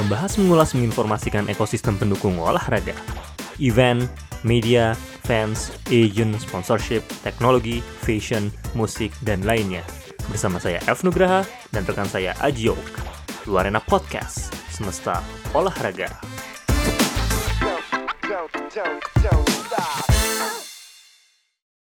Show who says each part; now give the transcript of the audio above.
Speaker 1: Membahas, mengulas, menginformasikan ekosistem pendukung olahraga. Event, media, fans, agent, sponsorship, teknologi, fashion, musik, dan lainnya. Bersama saya Elf Nugraha dan rekan saya Aji Oak. Luarena Podcast, semesta olahraga.